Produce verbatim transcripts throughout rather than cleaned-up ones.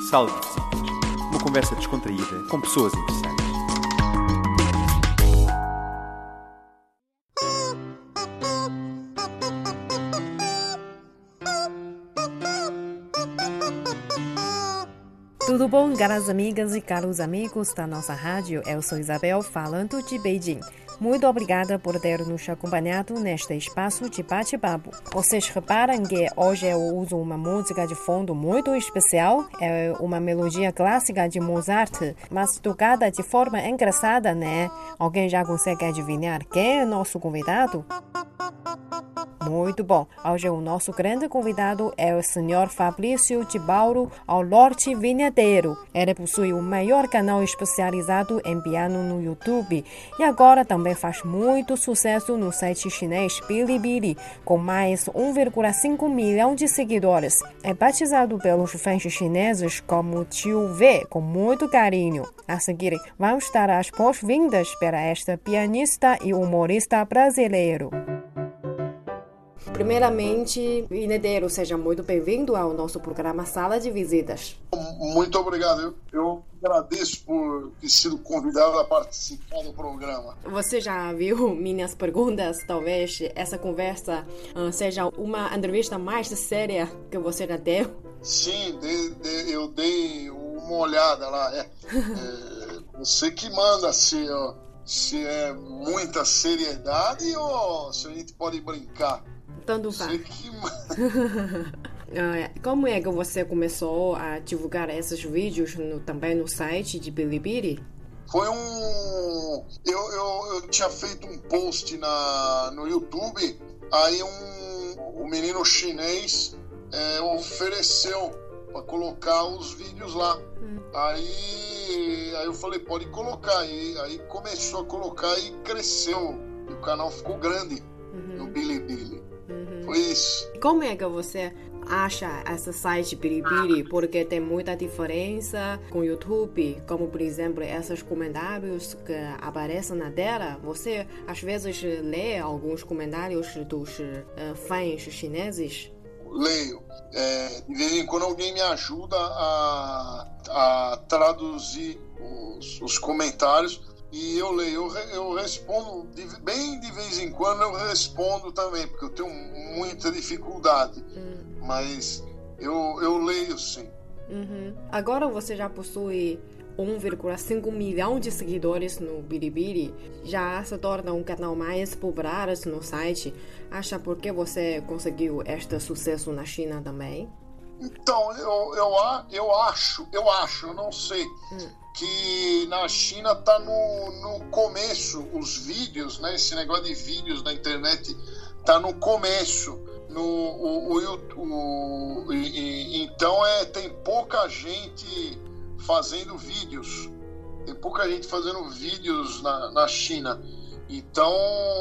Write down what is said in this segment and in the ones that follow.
Sala de Visitas. Uma conversa descontraída com pessoas interessantes. Tudo bom, caras amigas e caros amigos da nossa rádio? Eu sou Isabel, falando de Beijing. Muito obrigada por ter nos acompanhado neste espaço de bate-papo. Vocês reparam que hoje eu uso uma música de fundo muito especial? É uma melodia clássica de Mozart, mas tocada de forma engraçada, né? Alguém já consegue adivinhar quem é nosso convidado? Muito bom. Hoje o nosso grande convidado é o senhor Fabrício de Bauro, ao Norte Vinheteiro. Ele possui o maior canal especializado em piano no YouTube e agora também faz muito sucesso no site chinês Bilibili, com mais um vírgula cinco milhão de seguidores. É batizado pelos fãs chineses como Tio V, com muito carinho. A seguir, vamos dar as boas-vindas para esta pianista e humorista brasileiro. Primeiramente, Vinheteiro, seja muito bem-vindo ao nosso programa Sala de Visitas. Muito obrigado. Eu, eu agradeço por ter sido convidado a participar do programa. Você já viu minhas perguntas? Talvez essa conversa uh, seja uma entrevista mais séria que você já deu? Sim, de, de, eu dei uma olhada lá. É, é, você que manda se, ó, se é muita seriedade ou se a gente pode brincar. Tanto faz. Como é que você começou a divulgar esses vídeos no, também no site de Bilibili? Foi um... Eu, eu, eu tinha feito um post na, no YouTube, aí um, um menino chinês é, ofereceu para colocar os vídeos lá. Hum. Aí, aí eu falei, pode colocar. Aí, aí começou a colocar e cresceu. E o canal ficou grande uhum. no Bilibili. Uhum. Foi isso. Como é que você acha esse site Bilibili? Porque tem muita diferença com o YouTube, como por exemplo esses comentários que aparecem na tela. Você às vezes lê alguns comentários dos uh, fãs chineses? Leio. É, de vez em quando alguém me ajuda a, a traduzir os, os comentários. E eu leio, eu, eu respondo, de, bem de vez em quando eu respondo também, porque eu tenho muita dificuldade, hum. mas eu, eu leio sim. Uhum. Agora você já possui um vírgula cinco milhão de seguidores no Bilibili, já se torna um canal mais popular no site. Acha por que você conseguiu este sucesso na China também? Então, eu, eu, eu acho, eu acho, eu não sei, hum. que na China tá no, no começo, os vídeos, né? Esse negócio de vídeos na internet tá no começo. No, o, o, o, e, então é, tem pouca gente fazendo vídeos. Tem pouca gente fazendo vídeos na, na China. Então,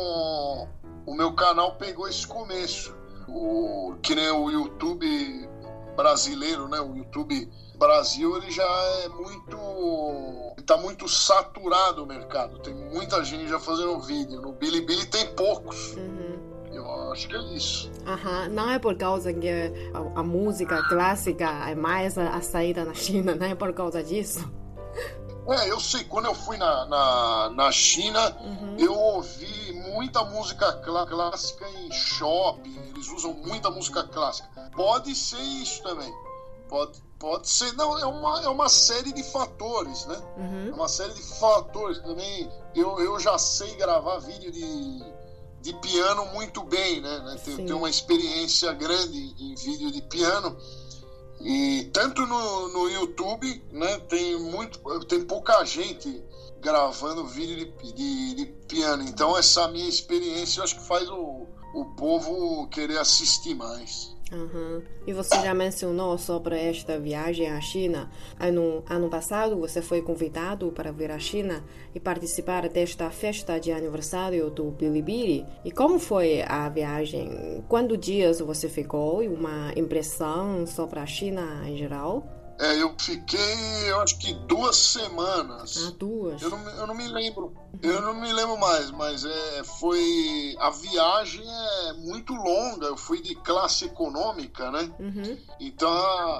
o meu canal pegou esse começo. O, que nem o YouTube brasileiro, né? O YouTube Brasil, ele já é muito... Está muito saturado o mercado. Tem muita gente já fazendo vídeo. No Bilibili tem poucos. Uhum. Eu acho que é isso. Uhum. Não é por causa que a, a música clássica é mais a, a saída na China, não é por causa disso? É, eu sei. Quando eu fui na, na, na China, uhum. eu ouvi muita música clá- clássica em shopping. Eles usam muita música clássica. Pode ser isso também. Pode, pode ser. Não, é uma, é uma série de fatores, né? Uhum. É uma série de fatores também. Eu, eu já sei gravar vídeo de, de piano muito bem, né? Tenho, tenho uma experiência grande em vídeo de piano. E tanto no, no YouTube, né? Tem, muito, tem pouca gente gravando vídeo de, de, de piano. Então essa minha experiência eu acho que faz o, o povo querer assistir mais. Uhum. E você já mencionou sobre esta viagem à China. Ano, ano passado você foi convidado para vir à China e participar desta festa de aniversário do Bilibili. E como foi a viagem? Quantos dias você ficou e uma impressão sobre a China em geral? É, eu fiquei, eu acho que duas semanas. Ah, duas? Eu não, eu não me lembro. Eu não me lembro mais, mas é, foi... A viagem é muito longa. Eu fui de classe econômica, né? Uhum. Então, a,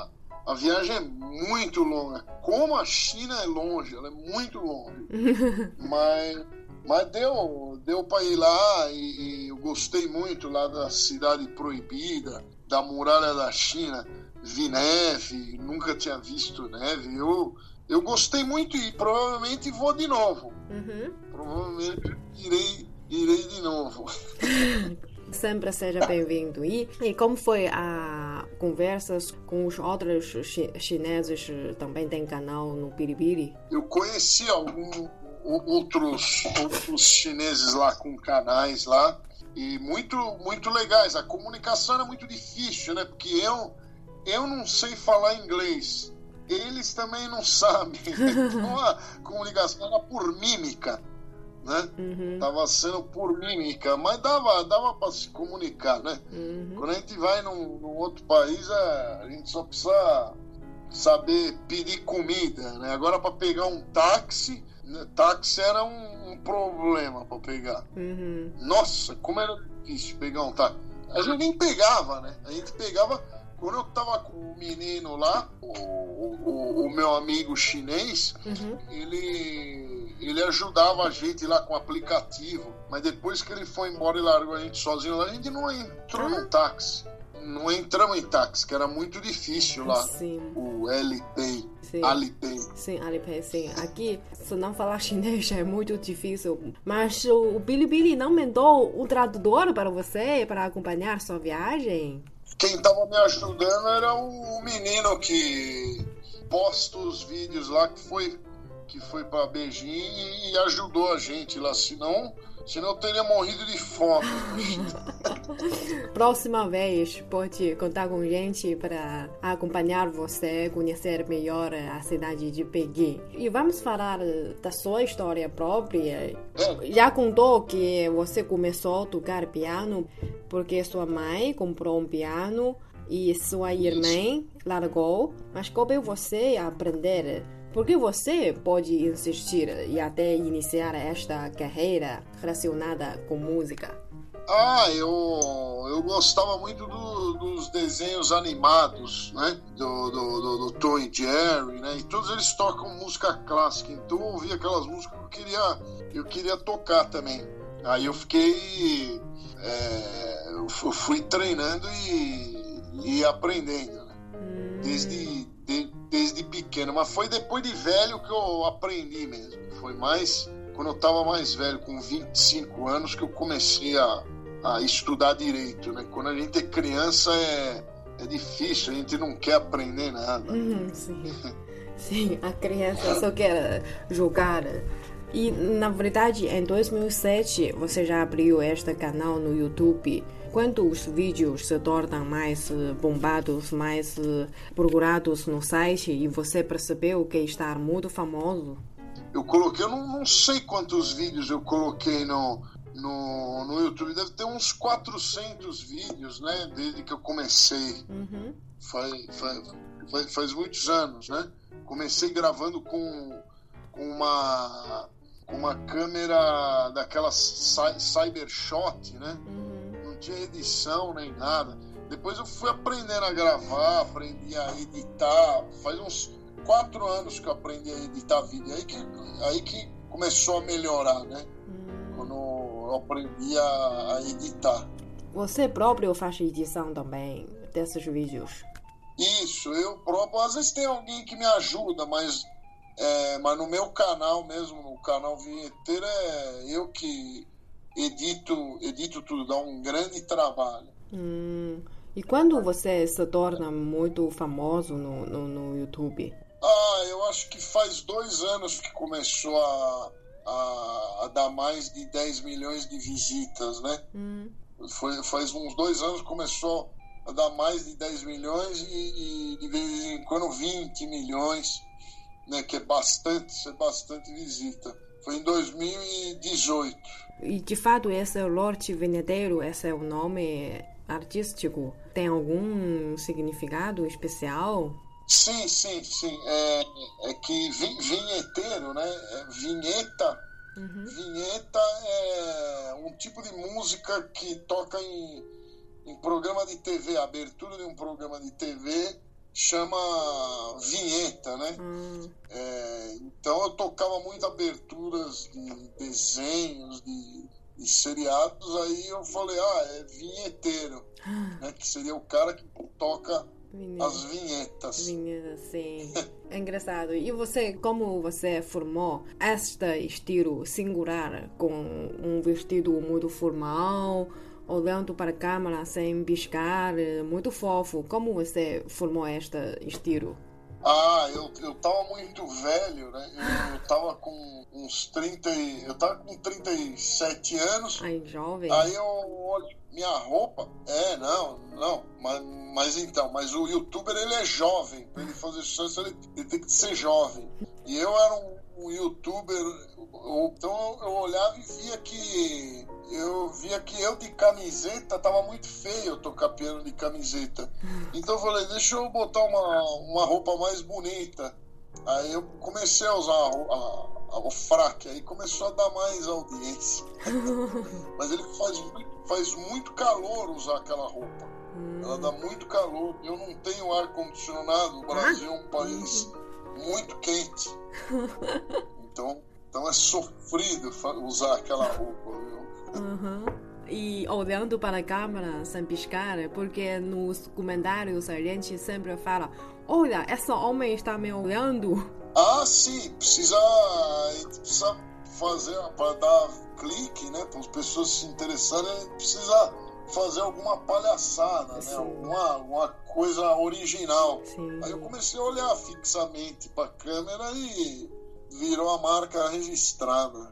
a viagem é muito longa. Como a China é longe, ela é muito longe. mas, mas deu, deu para ir lá e, e eu gostei muito lá da Cidade Proibida, da Muralha da China. Vi neve, nunca tinha visto neve. Eu, eu gostei muito e provavelmente vou de novo. Uhum. Provavelmente irei, irei de novo. Sempre seja bem-vindo. E, e como foi a conversa com os outros chi- chineses? Também tem canal no Bilibili? Eu conheci alguns outros, outros chineses lá com canais lá e muito, muito legais. A comunicação era muito difícil, né? Porque eu, eu não sei falar inglês. Eles também não sabem. Então a comunicação era por mímica. Né? Uhum. Tava sendo por mímica, mas dava, dava para se comunicar, né? Uhum. Quando a gente vai num, num outro país, a, a gente só precisa saber pedir comida, né? Agora para pegar um táxi, né? Táxi era um, um problema para pegar. Uhum. Nossa, como era difícil pegar um táxi. A gente nem pegava, né? A gente pegava quando eu tava com o menino lá, o, o, o meu amigo chinês, Uhum. ele ele ajudava a gente lá com o aplicativo, mas depois que ele foi embora e largou a gente sozinho lá, a gente não entrou Ah. no táxi. Não entramos em táxi, que era muito difícil lá. Sim. O Alipay. Sim. Alipay. Sim, Alipay, sim. Aqui, se não falar chinês, é muito difícil. Mas o Bilibili não mandou um tradutor para você, para acompanhar sua viagem? Quem estava me ajudando era o menino que posta os vídeos lá, que foi, que foi para Beijing e ajudou a gente lá. Senão, senão eu teria morrido de fome. Próxima vez, pode contar com gente para acompanhar você, conhecer melhor a cidade de Pequim. E vamos falar da sua história própria. É. Já contou que você começou a tocar piano porque sua mãe comprou um piano e sua irmã largou, mas coube você aprender. Por que você pode insistir e até iniciar esta carreira relacionada com música? Ah, eu, eu gostava muito do, dos desenhos animados, né? Do, do, do, do Tom e Jerry, né? E todos eles tocam música clássica, então eu ouvia aquelas músicas que eu queria, eu queria tocar também. Aí eu fiquei... É, eu fui treinando e, e aprendendo, né? Desde, de, desde pequeno. Mas foi depois de velho que eu aprendi mesmo. Foi mais quando eu estava mais velho, com vinte e cinco anos, que eu comecei a, a estudar direito, né? Quando a gente é criança é, é difícil, a gente não quer aprender nada. Uhum, sim. Sim, a criança só quer jogar. E, na verdade, em dois mil e sete, você já abriu este canal no YouTube. Quando os vídeos se tornam mais bombados, mais procurados no site e você percebeu que está muito famoso? Eu coloquei, eu não, não sei quantos vídeos eu coloquei no, no, no YouTube. Deve ter uns quatrocentos vídeos, né? Desde que eu comecei. Uhum. Faz, faz, faz, faz muitos anos, né? Comecei gravando com, com uma... com uma câmera daquela cy- Cybershot, né? Uhum. Não tinha edição nem nada. Depois eu fui aprendendo a gravar, aprendi a editar. Faz uns quatro anos que eu aprendi a editar vídeo. Aí que, aí que começou a melhorar, né? Uhum. Quando eu aprendi a, a editar. Você próprio faz edição também desses vídeos? Isso, eu próprio. Às vezes tem alguém que me ajuda, mas... É, mas no meu canal mesmo, no canal Vinheteiro, é eu que edito, edito tudo, dá um grande trabalho. Hum. E quando você se torna muito famoso no, no, no YouTube? Ah, eu acho que faz dois anos que começou a, a, a dar mais de dez milhões de visitas, né? Hum. Foi, faz uns dois anos que começou a dar mais de dez milhões e, e de vez em quando vinte milhões. Né, que é bastante, é bastante visita. Foi em dois mil e dezoito. E de fato esse Lorde Vinheteiro, esse é o nome artístico, tem algum significado especial? Sim, sim, sim. É, é que vi, vinheteiro, né? É vinheta. Uhum. Vinheta é um tipo de música que toca em, em programa de T V, abertura de um programa de T V chama vinheta, né? Hum. É, então eu tocava muito aberturas de desenhos, de, de seriados, aí eu falei, ah, é vinheteiro, né? Que seria o cara que toca Vinheta. as vinhetas. Vinheta, sim. É engraçado. E você, como você formou este estilo singular com um vestido muito formal, olhando para a câmera sem piscar, muito fofo. Como você formou este estilo? Ah, eu, eu tava muito velho, né? Eu, eu tava com uns trinta, eu tava com trinta e sete anos. Ai, jovem. Aí eu olho minha roupa. É, não, não. Mas, mas então, mas o youtuber, ele é jovem. Pra ele fazer sucesso, ele, ele tem que ser jovem. E eu era um, um youtuber, eu, então eu olhava e via que eu via que eu de camiseta tava muito feio eu tocar piano de camiseta. Então eu falei, deixa eu botar uma, uma roupa mais bonita. Aí eu comecei a usar a, a, a, o fraque, aí começou a dar mais audiência. Mas ele faz muito, faz muito calor usar aquela roupa. Ela dá muito calor. Eu não tenho ar-condicionado. O Brasil é um país muito quente. Então, então é sofrido usar aquela roupa, viu? Uhum. E olhando para a câmera sem piscar, porque nos comentários a gente sempre fala, olha, esse homem está me olhando. Ah, sim, precisa, a gente precisa fazer, para dar clique, né, para as pessoas se interessarem, a gente precisa fazer alguma palhaçada, né, alguma, alguma coisa original. Sim. Aí eu comecei a olhar fixamente para a câmera e virou a marca registrada.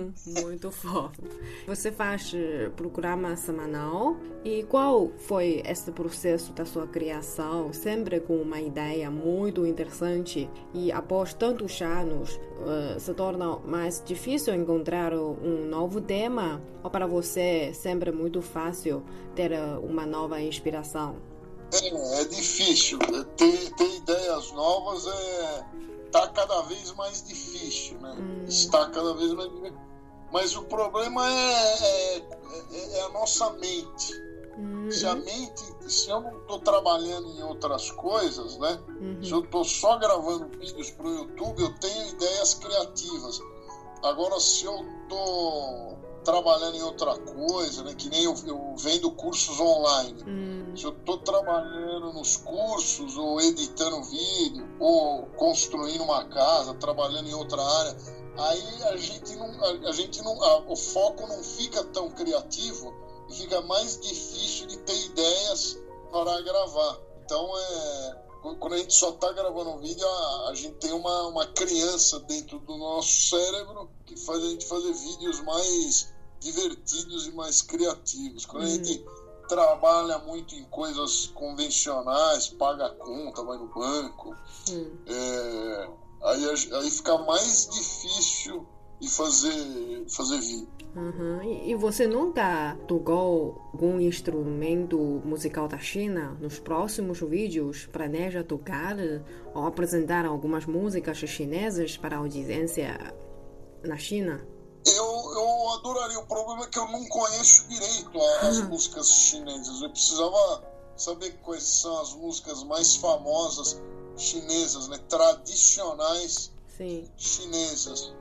Muito fofo. Você faz programa semanal e qual foi esse processo da sua criação? Sempre com uma ideia muito interessante e após tantos anos uh, se torna mais difícil encontrar um novo tema ou para você sempre muito fácil ter uma nova inspiração? É, é difícil. Ter, ter ideias novas é... Está cada vez mais difícil, né? Hum. Está cada vez mais difícil. Mas o problema é, é, é a nossa mente. Uhum. Se a mente, se eu não estou trabalhando em outras coisas, né? Uhum. Se eu estou só gravando vídeos para o YouTube, eu tenho ideias criativas. Agora, se eu estou trabalhando em outra coisa, né? Que nem eu, eu vendo cursos online. Hum. Se eu estou trabalhando nos cursos, ou editando vídeo, ou construindo uma casa, trabalhando em outra área, aí a gente não, a, a gente não, a, o foco não fica tão criativo e fica mais difícil de ter ideias para gravar. Então, é, quando a gente só está gravando um vídeo, a, a gente tem uma, uma criança dentro do nosso cérebro que faz a gente fazer vídeos mais divertidos e mais criativos. Quando hum. a gente trabalha muito em coisas convencionais, paga a conta, vai no banco, hum. é, aí, aí fica mais difícil de fazer, fazer vídeo. Uhum. E você nunca tocou algum instrumento musical da China? Nos próximos vídeos, planeja tocar ou apresentar algumas músicas chinesas para a audiência na China? Eu, eu adoraria. O problema é que eu não conheço direito as uhum. músicas chinesas. Eu precisava saber quais são as músicas mais famosas chinesas, né? Tradicionais Sim. chinesas.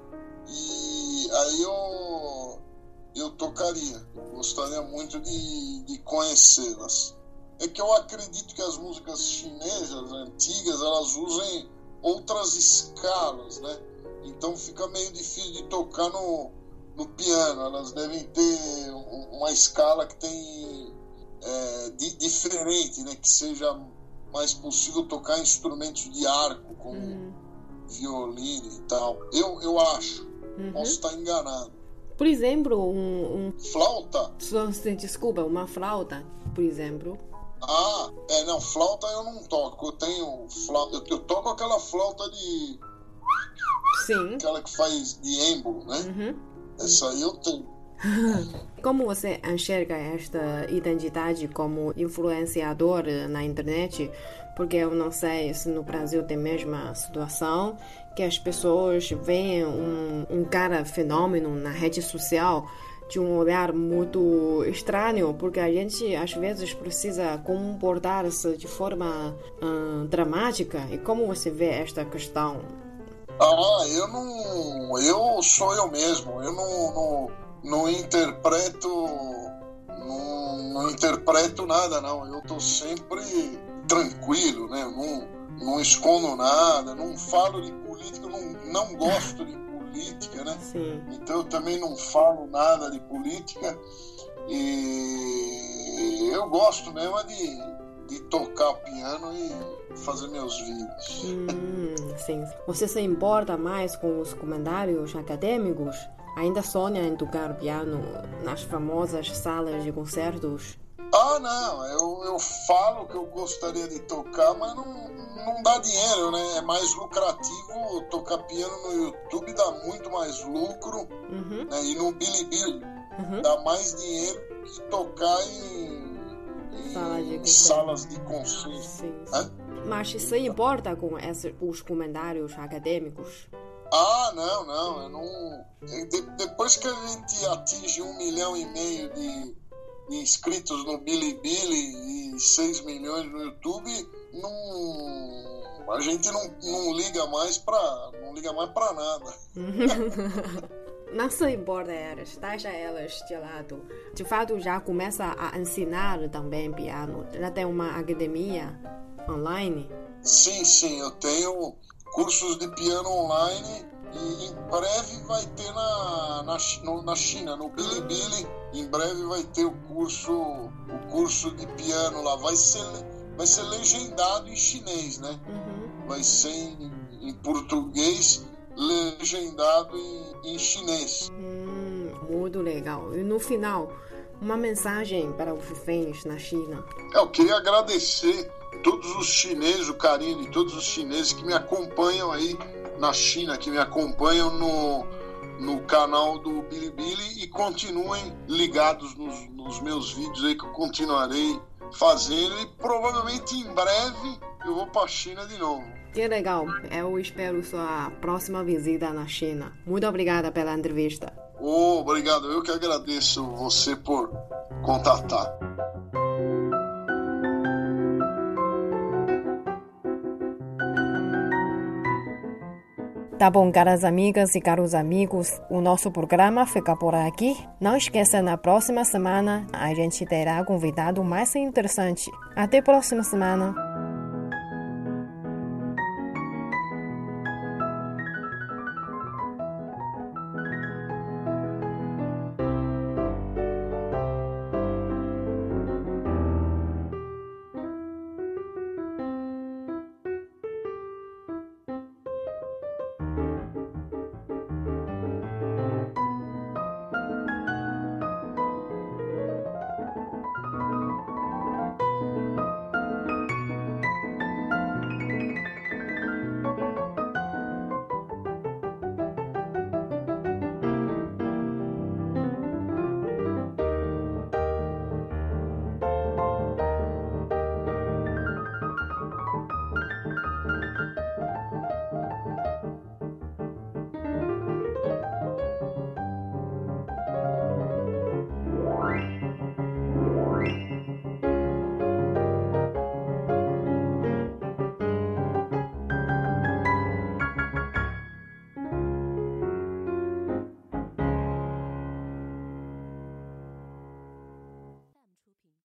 E aí eu, eu tocaria. Eu gostaria muito de, de conhecê-las. É que eu acredito que as músicas chinesas antigas, elas usem outras escalas, né? Então fica meio difícil de tocar no, no piano. Elas devem ter uma escala que tem é, di, diferente, né? Que seja mais possível tocar instrumentos de arco, como uhum. violino e tal. Eu, eu acho. Uhum. Posso estar enganado. Por exemplo, um, um... Flauta? Desculpa, uma flauta, por exemplo. Ah, é, não, flauta eu não toco. Eu tenho flauta. Eu, eu toco aquela flauta de... Sim. Aquela que faz de êmbolo, né? Uhum. Essa aí eu tenho. Como você enxerga esta identidade como influenciador na internet? Porque eu não sei se no Brasil tem a mesma situação, que as pessoas veem um, um cara fenômeno na rede social de um olhar muito estranho, porque a gente às vezes precisa comportar-se de forma hum, dramática. E como você vê esta questão? Ah, eu não... Eu sou eu mesmo. Eu não, não, não interpreto... Não, não interpreto nada, não. Eu tô sempre tranquilo, né? Eu não, não escondo nada, não falo de política, eu não, não gosto de política, né? Sim. Então eu também não falo nada de política e eu gosto mesmo de, de tocar piano e fazer meus vídeos. Hum, sim. Você se importa mais com os comentários acadêmicos? Ainda sonha em tocar piano nas famosas salas de concertos? Ah, não, eu, eu falo que eu gostaria de tocar, mas não, não dá dinheiro, né? É mais lucrativo tocar piano no YouTube, dá muito mais lucro, uhum. né? E no Bilibili uhum. dá mais dinheiro que tocar em, em Sala de salas de concerto. Sim, sim. Mas se importa com esses, os comentários acadêmicos? Ah, não, não, eu não... De, depois que a gente atinge um milhão e meio de inscritos no Bilibili e seis milhões no YouTube, não, a gente não, não liga mais para não liga mais para nada. Não se importa elas, deixa elas de lado. De fato, já começa a ensinar também piano. Já tem uma academia online? Sim, sim, eu tenho cursos de piano online. E em breve vai ter na, na, no, na China, no Bilibili, em breve vai ter o curso, o curso de piano lá. Vai ser, vai ser legendado em chinês, né? Uhum. Vai ser em, em português, legendado em, em chinês. Hum, muito legal. E no final, uma mensagem para os fãs na China. Eu queria agradecer todos os chineses, o carinho de todos os chineses que me acompanham aí na China, que me acompanham no, no canal do Bilibili e continuem ligados nos, nos meus vídeos aí que eu continuarei fazendo e provavelmente em breve eu vou para a China de novo. Que legal, eu espero sua próxima visita na China. Muito obrigada pela entrevista. Oh, obrigado, eu que agradeço você por contatar. Tá bom, caras amigas e caros amigos, o nosso programa fica por aqui. Não esqueça, na próxima semana a gente terá convidado mais interessante. Até a próxima semana.